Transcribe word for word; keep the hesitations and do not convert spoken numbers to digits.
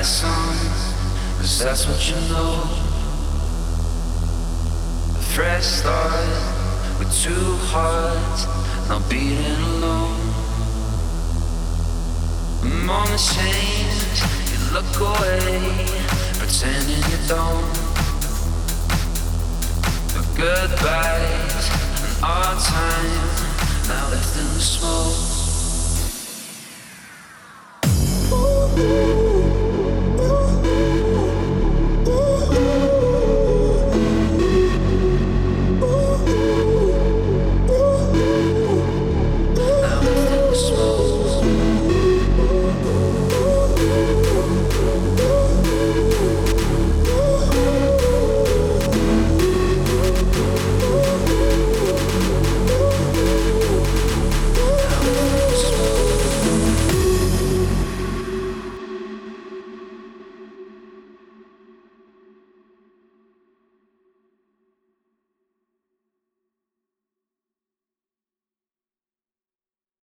a song, 'cause that's what you know. A fresh start with two hearts, not beating alone. Moments change, you look away, pretending you don't. The goodbyes and our time now left in the smoke. Ooh.